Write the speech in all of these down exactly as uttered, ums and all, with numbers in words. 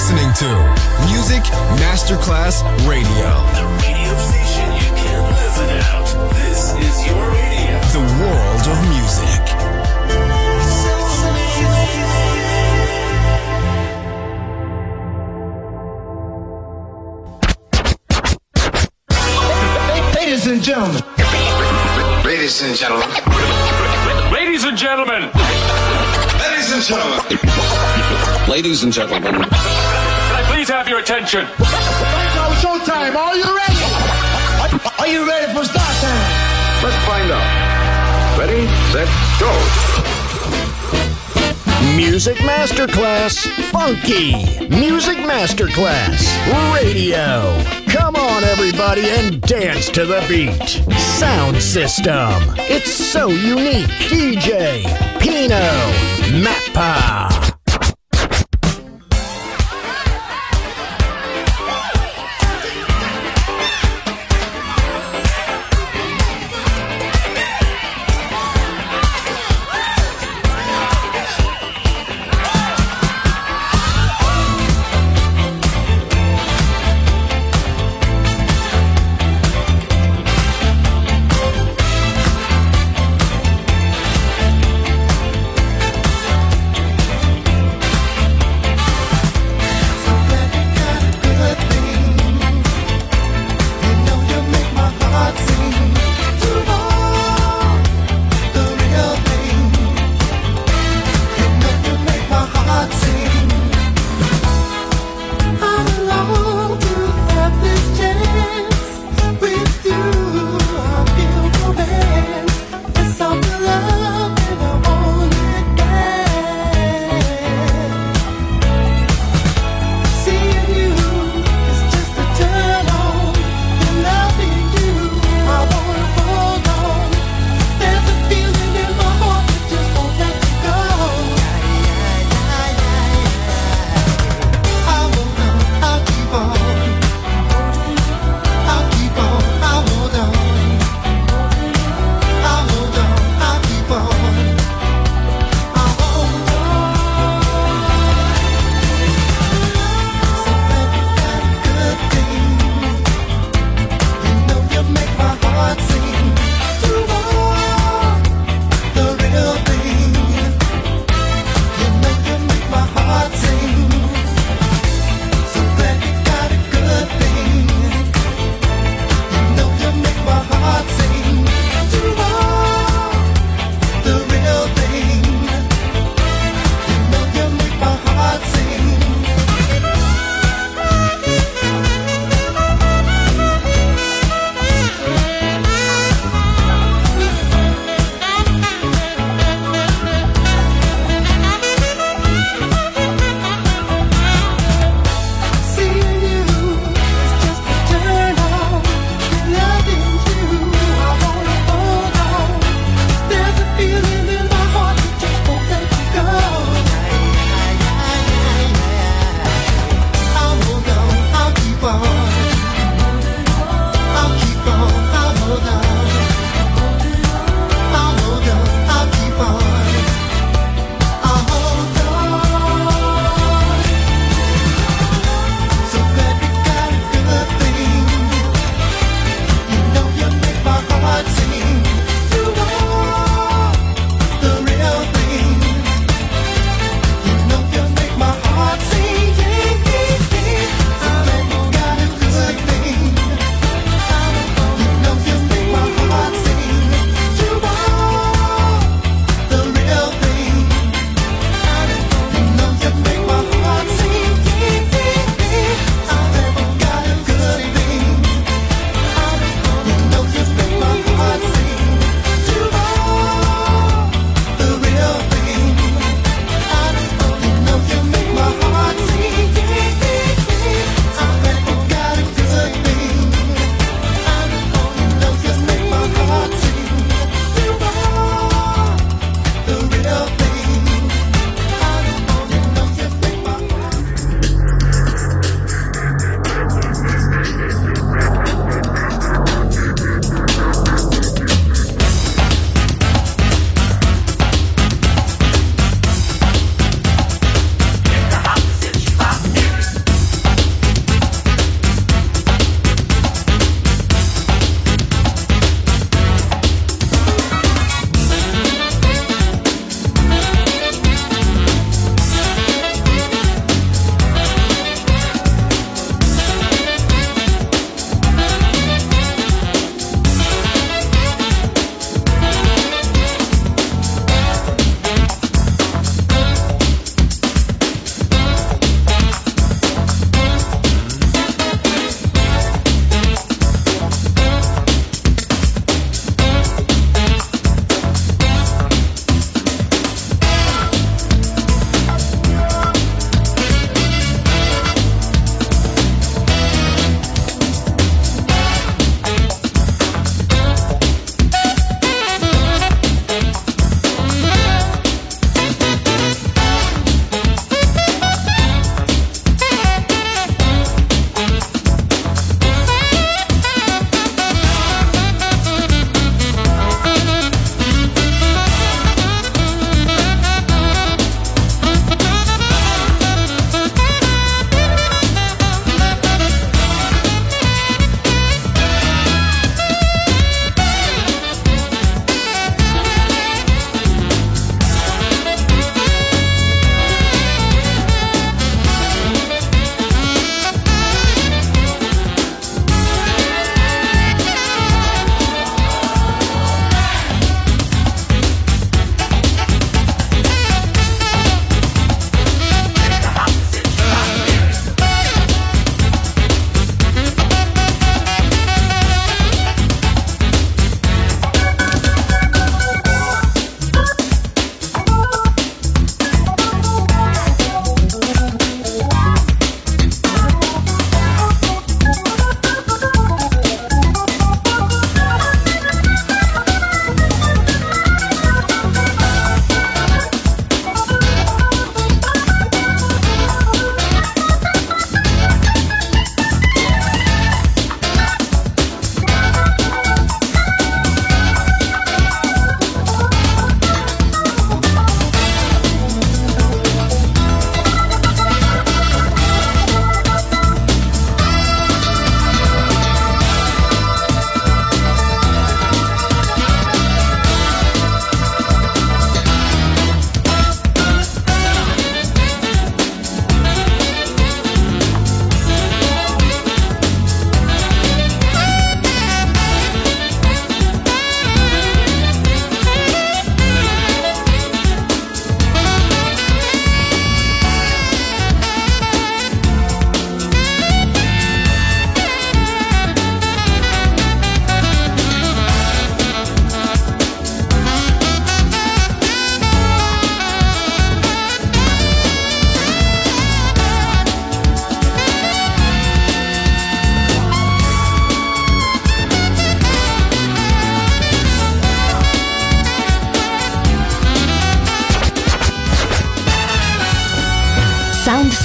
listening to Music Masterclass Radio. The radio station you can't live without. This is your radio. The world of music. Ladies and gentlemen. Ladies and gentlemen. Ladies and gentlemen. Ladies and gentlemen. Ladies and gentlemen. Can I please have your attention? It's showtime. Are you ready? Are you ready for start time? Let's find out. Ready, set, go. Music Masterclass Funky. Music Masterclass Radio. Come on, everybody, and dance to the beat. Sound system. It's so unique. D J Pino Mappa.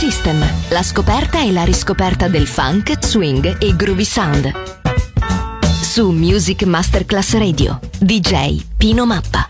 System, la scoperta e la riscoperta del funk, swing e groovy sound. Su Music Masterclass Radio, D J Pino Mappa.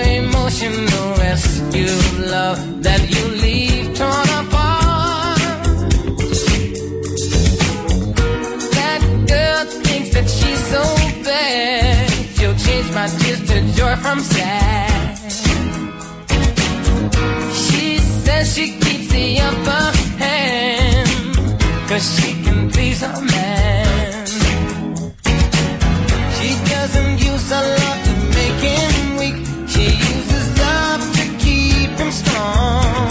love that you leave torn apart. her from sad. She says she keeps the upper hand, 'cause she can please her man. She doesn't use a lot to make him weak. She uses love to keep him strong.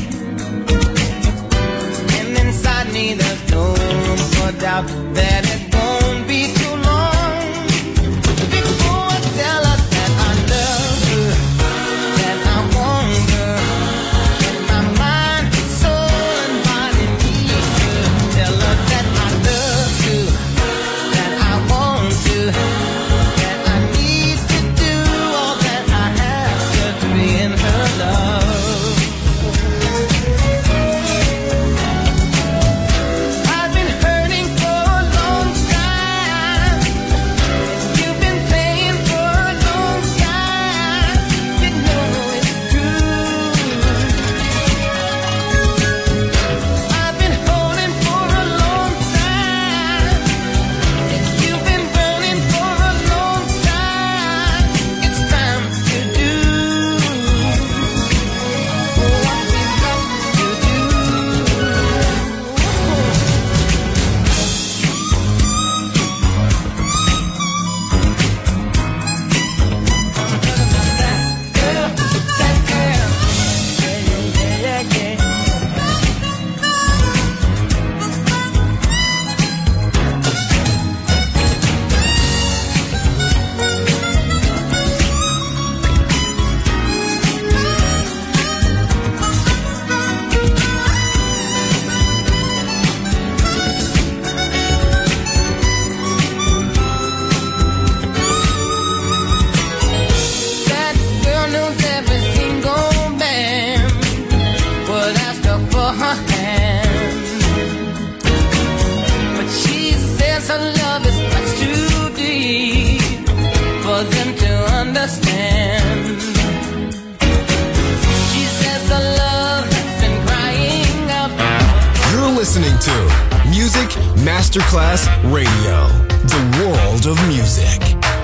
And inside me there's no room for doubt that it won't be too long before I tell her that I love her, that I want her, that my mind, soul and body need her. Tell her that I love you, that I want to, that I need to do all that I have to be in her love. I've been hurting for a long time. You've been playing for a long time. You know it's true. I've been holding for a long time. You've been running for a long time. It's time to do what we've got to do. Girl, that girl, yeah, yeah, yeah, yeah. That girl knows every single man would ask her for her hand, but she says her love is much too deep for them to understand. She says her love has been crying out. You're listening to Music Masterclass Radio, the world of music.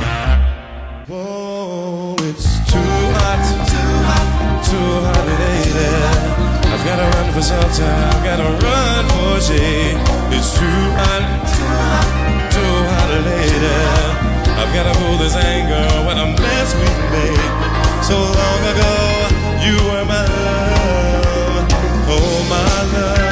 Whoa, it's too hot, too hot, too hot, lady. I've gotta run for shelter, I've gotta run for shade. It's too hot, too hot, too hot, lady. I've gotta cool this anger when I'm blessed with me. So long ago, you were my love, oh my love.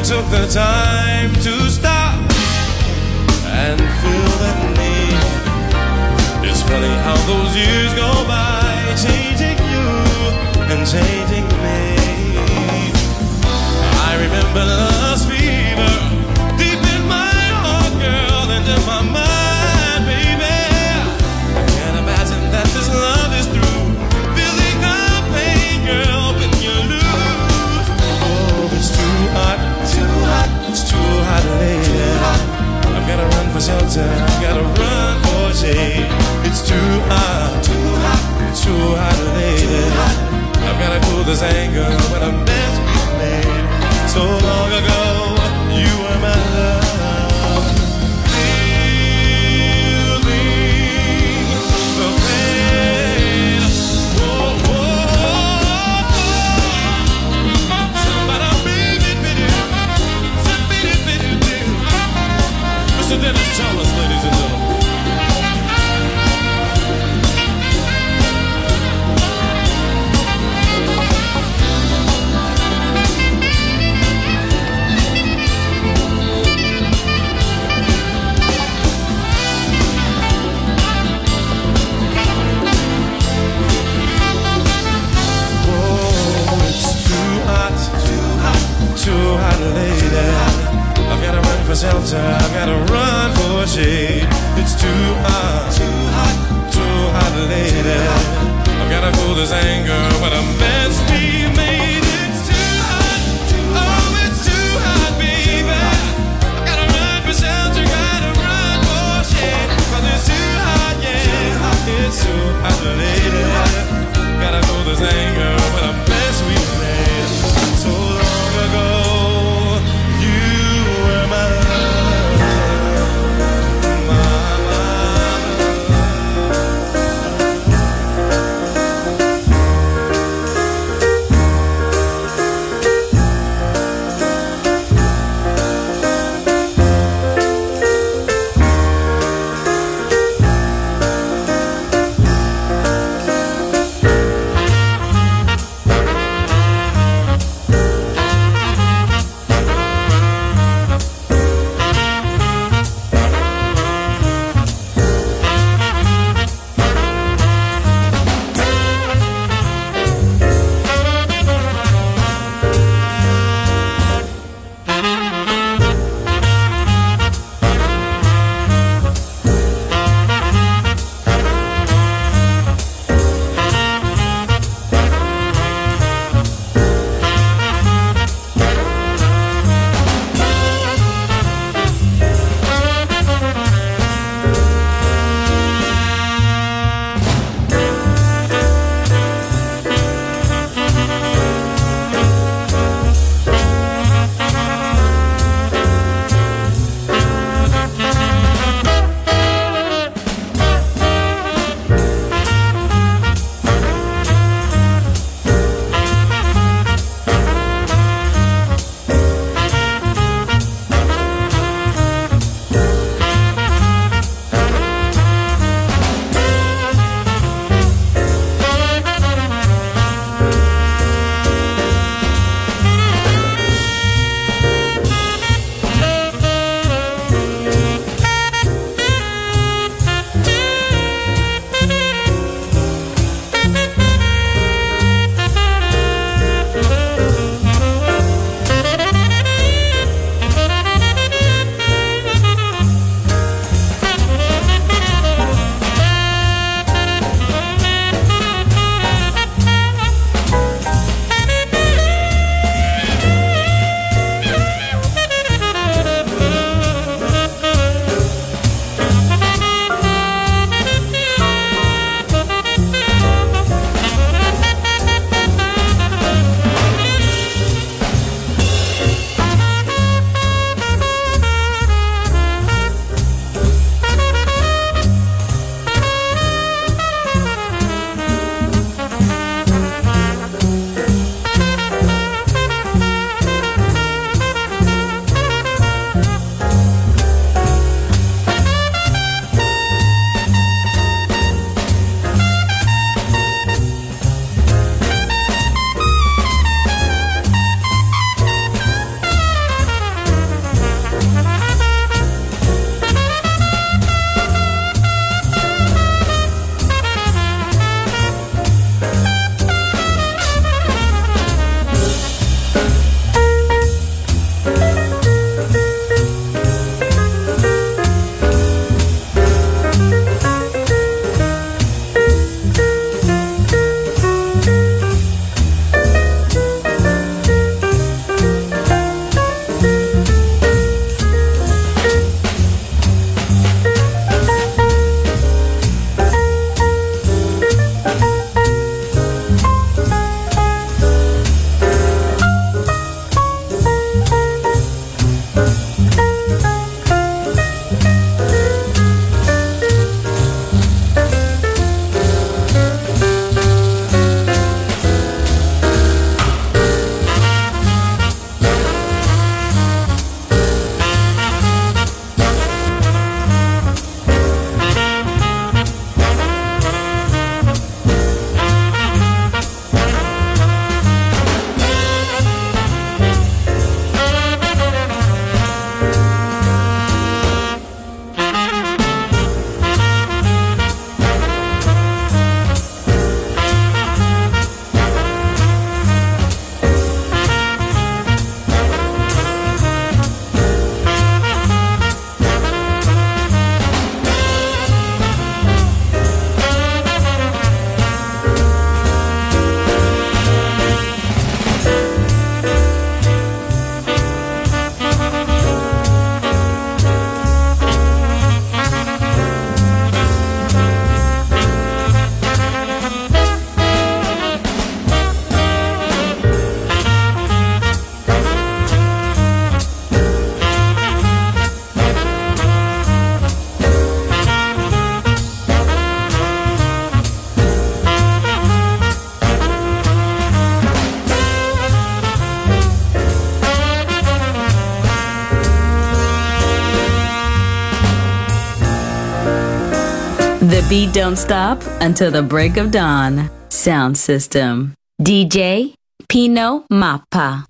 took the time to stop and feel that need. It's funny how those years go by, changing you and changing me. I remember love's fever deep in my heart, girl, and in my mind, baby. I can't imagine that this love is through. Feeling the pain, girl, when you lose. Oh, it's too hot, too hot, it's too hot, lady. I've gotta run for shelter, I've gotta run for shade. It's too hot, too hot, too hot, lady. I've gotta cool this anger when a mess was made. So long ago, you were my love. Feeling the pain. Whoa, whoa. Somebody beat it, beat it. Beat it, beat it, beat it. Mister Dennis Thomas, ladies and gentlemen. Too hot, lady. I've gotta run for shelter, I've gotta run for shade. It's too hot, too hot, too hot, lady. I've gotta cool this anger when a mess we made. It's too hot, oh, it's too hot, baby. I've gotta run for shelter, gotta run for shade. 'Cause it's too hot, yeah. It's too hot, lady. Gotta cool this anger when a mess we made. So long ago, you were my love, my beat don't stop until the break of dawn. Sound System. D J Pino Mappa.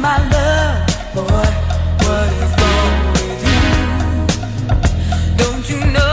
my love, boy, what is wrong with you? Don't you know?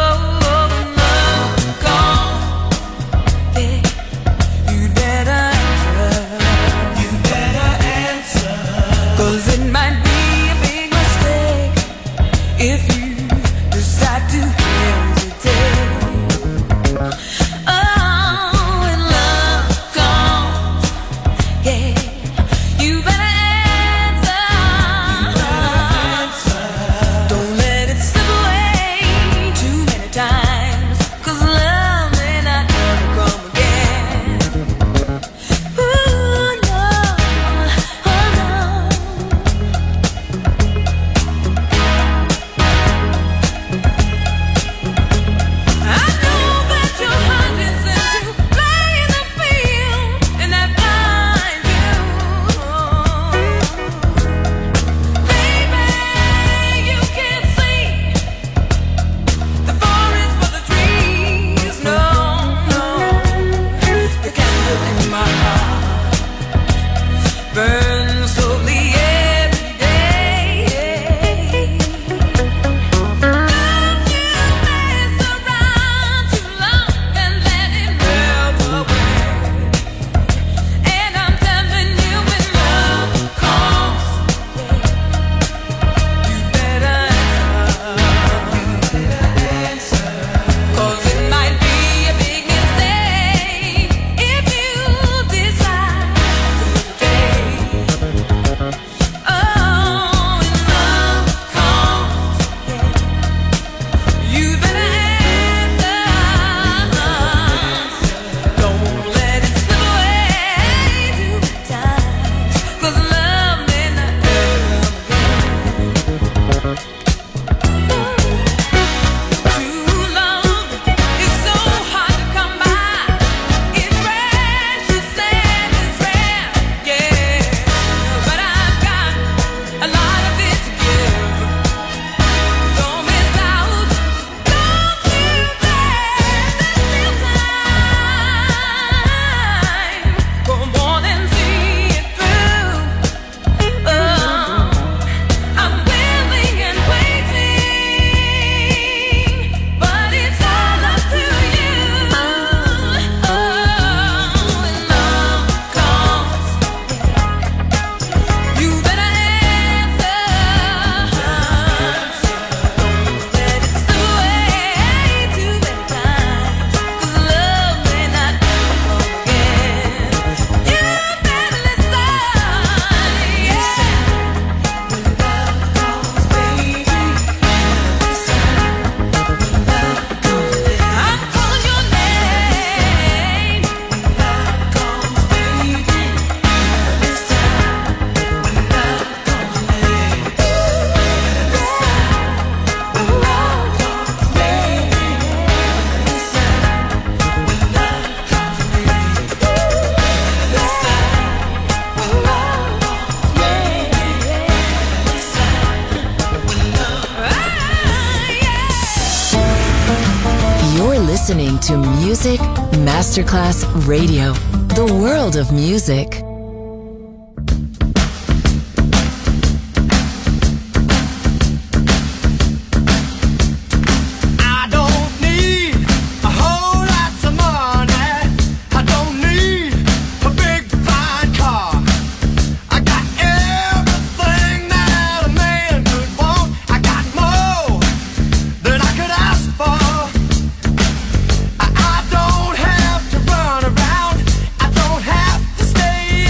Listening to Music Masterclass Radio, the world of music. Stay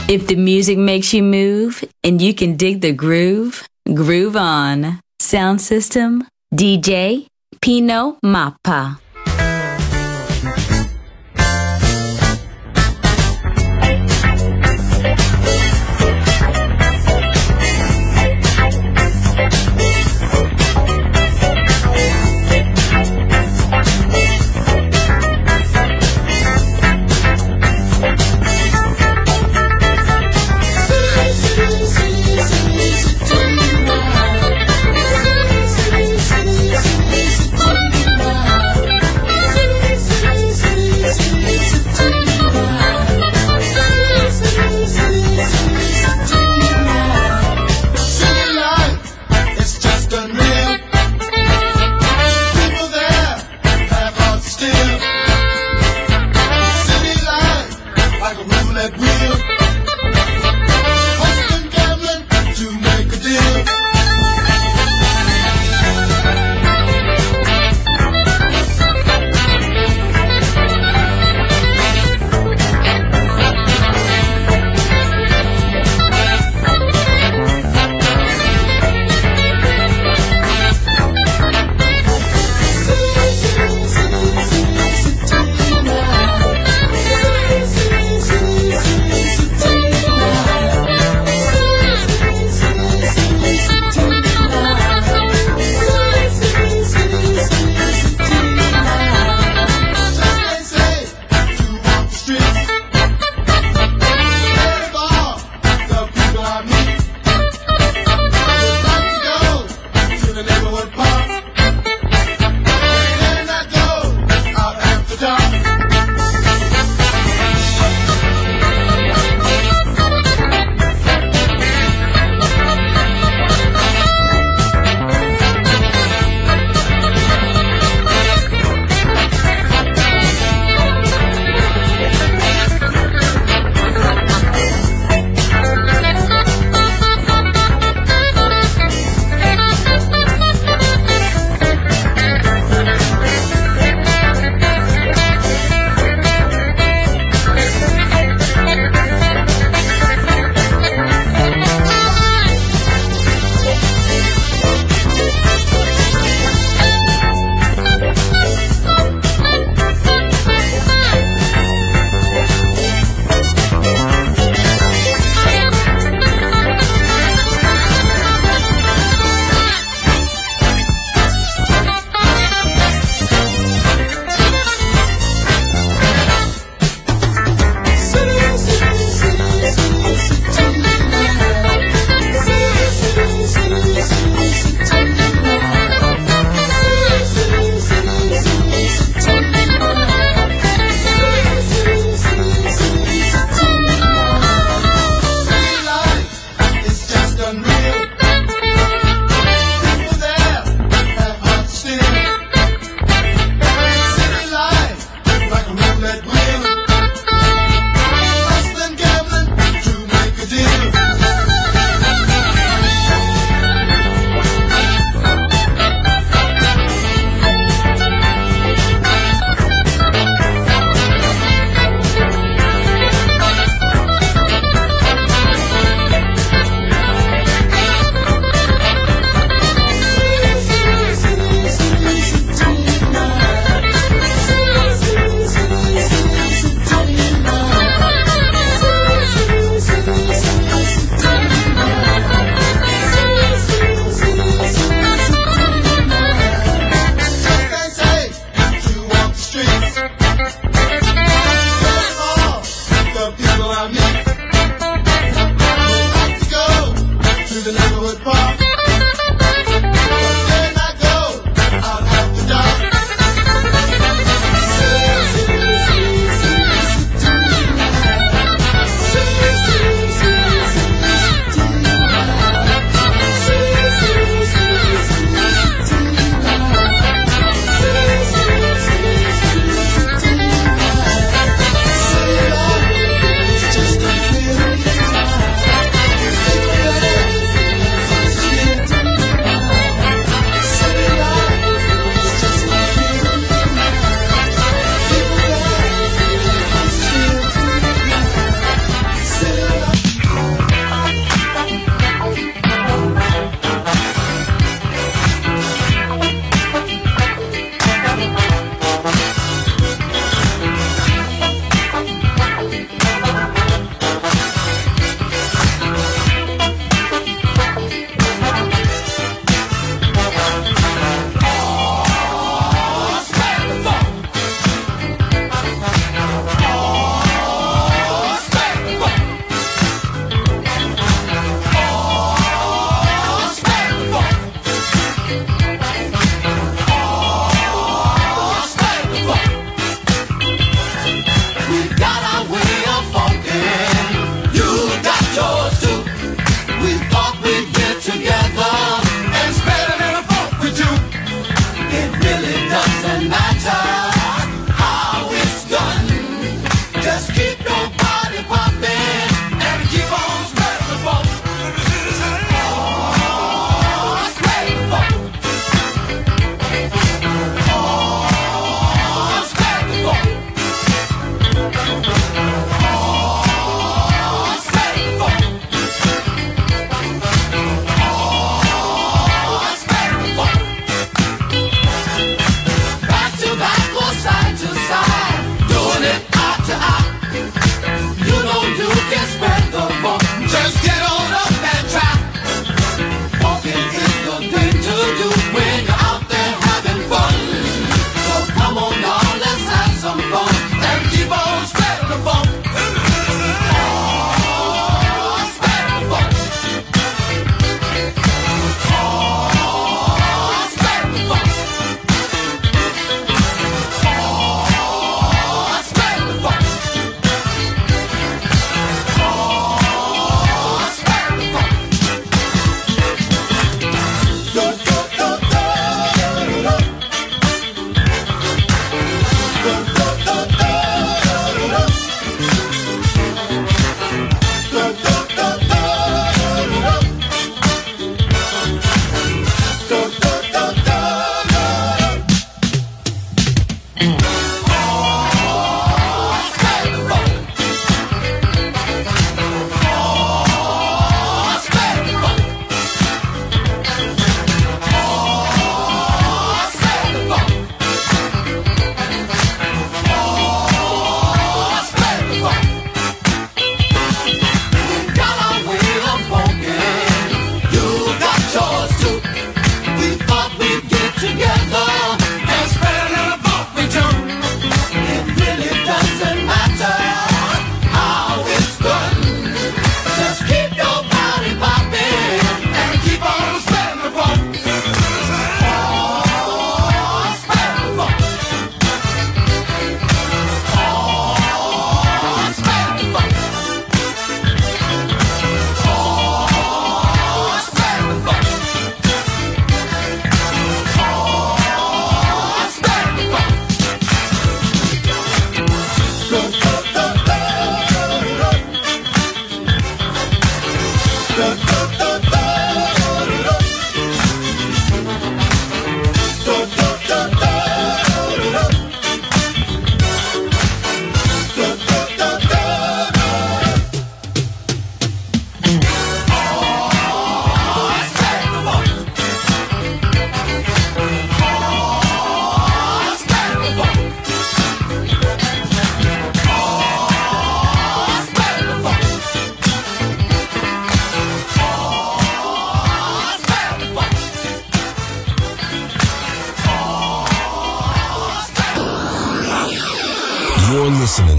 If the music makes you move and you can dig the groove, groove on. Sound system, D J Pino Mappa.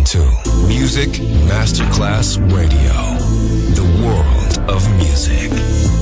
to Music Masterclass Radio, the world of music.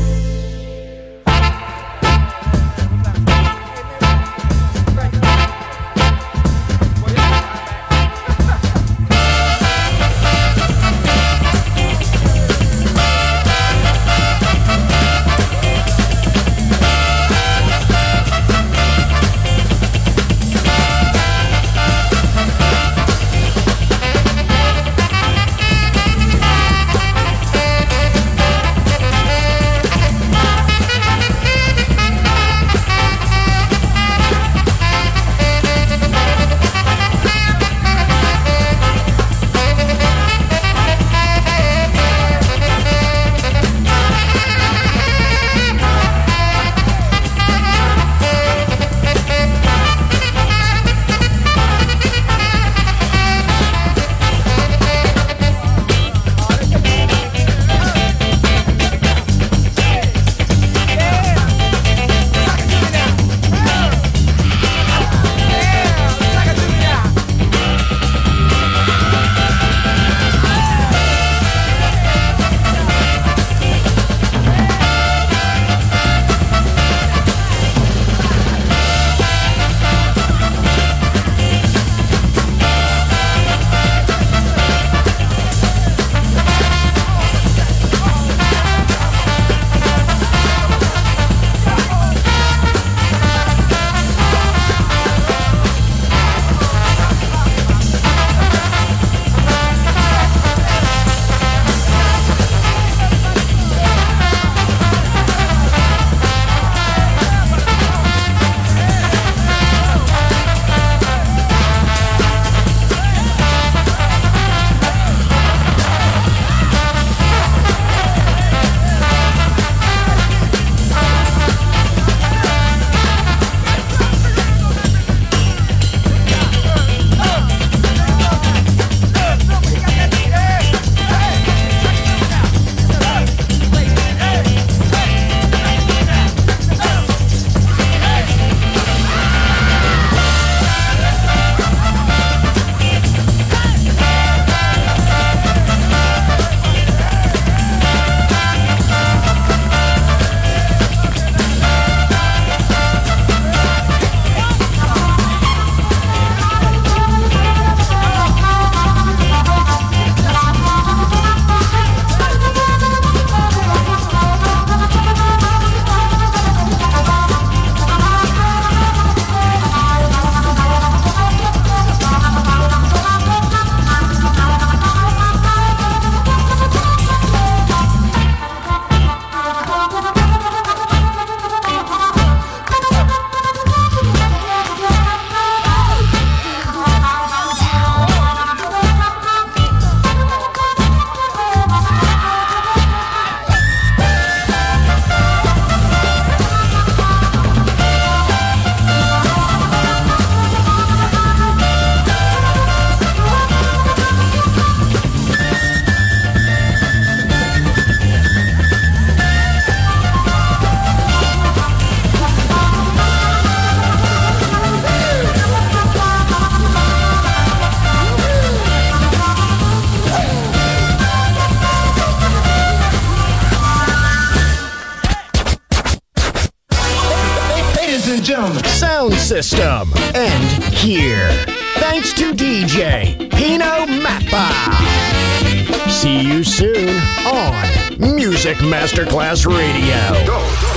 Sound system. And here. Thanks to D J Pino Mappa. See you soon on Music Masterclass Radio. Go, go.